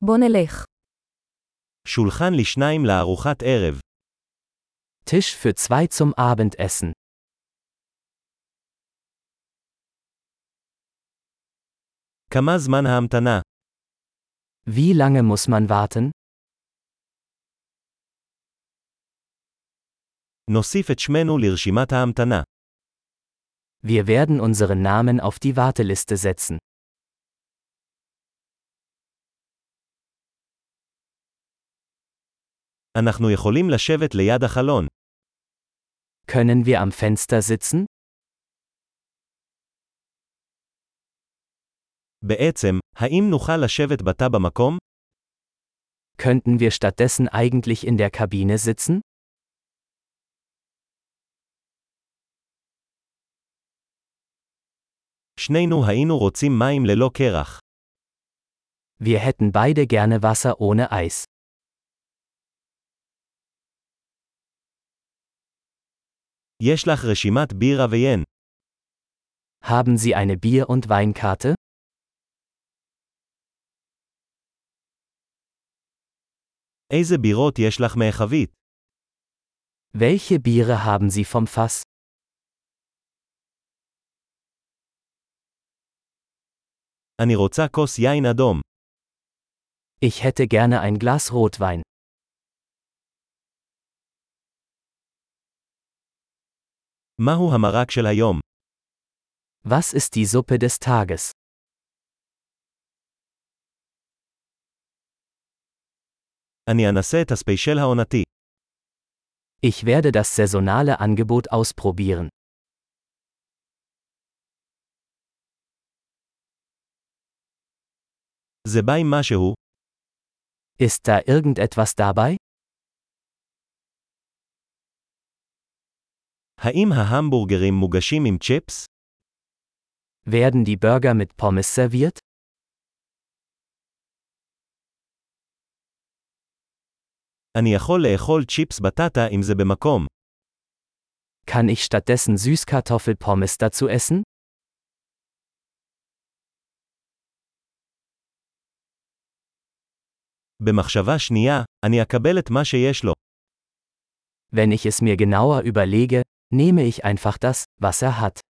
בוא נלך. שולחן לשניים לארוחת ערב. Tisch für zwei zum Abendessen. כמה זמן ההמתנה? Wie lange muss man warten? נוסיף את שמנו לרשימת ההמתנה. Wir werden unseren Namen auf die Warteliste setzen. אנחנו יכולים לשבת ליד החלון. Können wir am Fenster sitzen? בעצם, האם נוכל לשבת בתא במקום? Könnten wir stattdessen eigentlich in der Kabine sitzen? שנינו היינו רוצים מים ללא קרח. Wir hätten beide gerne Wasser ohne Eis. יש לך רשימת בירה ויין. Haben Sie eine Bier- und Weinkarte? איזה בירות יש לך מהחבית? Welche Biere haben Sie vom Fass? אני רוצה כוס יין אדום. Ich hätte gerne ein Glas Rotwein. מהו המרק של היום? Was ist die Suppe des Tages? אני אנסה את הספיישל העונתי. Ich werde das saisonale Angebot ausprobieren. זה בא עם משהו? Ist da irgendetwas dabei? האם ההמבורגרים מוגשים עם צ'יפס? Werden die Burger mit Pommes serviert? אני יכול לאכול צ'יפס בטטה אם זה במקום. Kann ich stattdessen Süßkartoffelpommes dazu essen? במחשבה שנייה, אני אקבל את מה שיש לו. Wenn ich es mir genauer überlege, nehme ich einfach das, was er hat.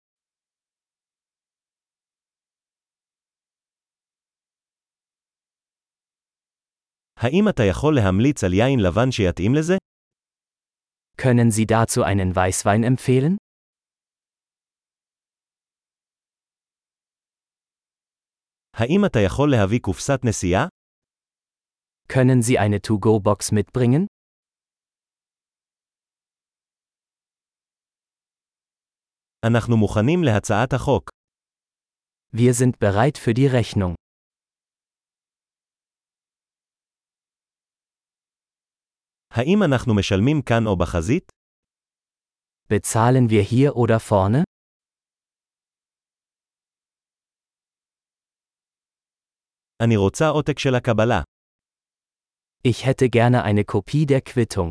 האם אתה יכול להמליץ על יין לבן שיתאים לזה? Können Sie dazu einen Weißwein empfehlen? האם אתה יכול להביא קופסת נסיעה? Können Sie eine To-Go-Box mitbringen? אנחנו מוכנים להצעת החוק. Wir sind bereit für die Rechnung. האם אנחנו משלמים כאן או בחזית? Bezahlen wir hier oder vorne? אני רוצה עותק של הקבלה. Ich hätte gerne eine Kopie der Quittung.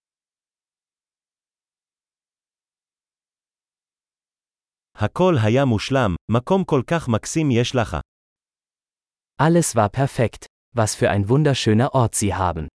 הכל היה מושלם, מקום כל כך מקסים יש לך. Alles war perfekt. Was für ein wunderschöner Ort Sie haben.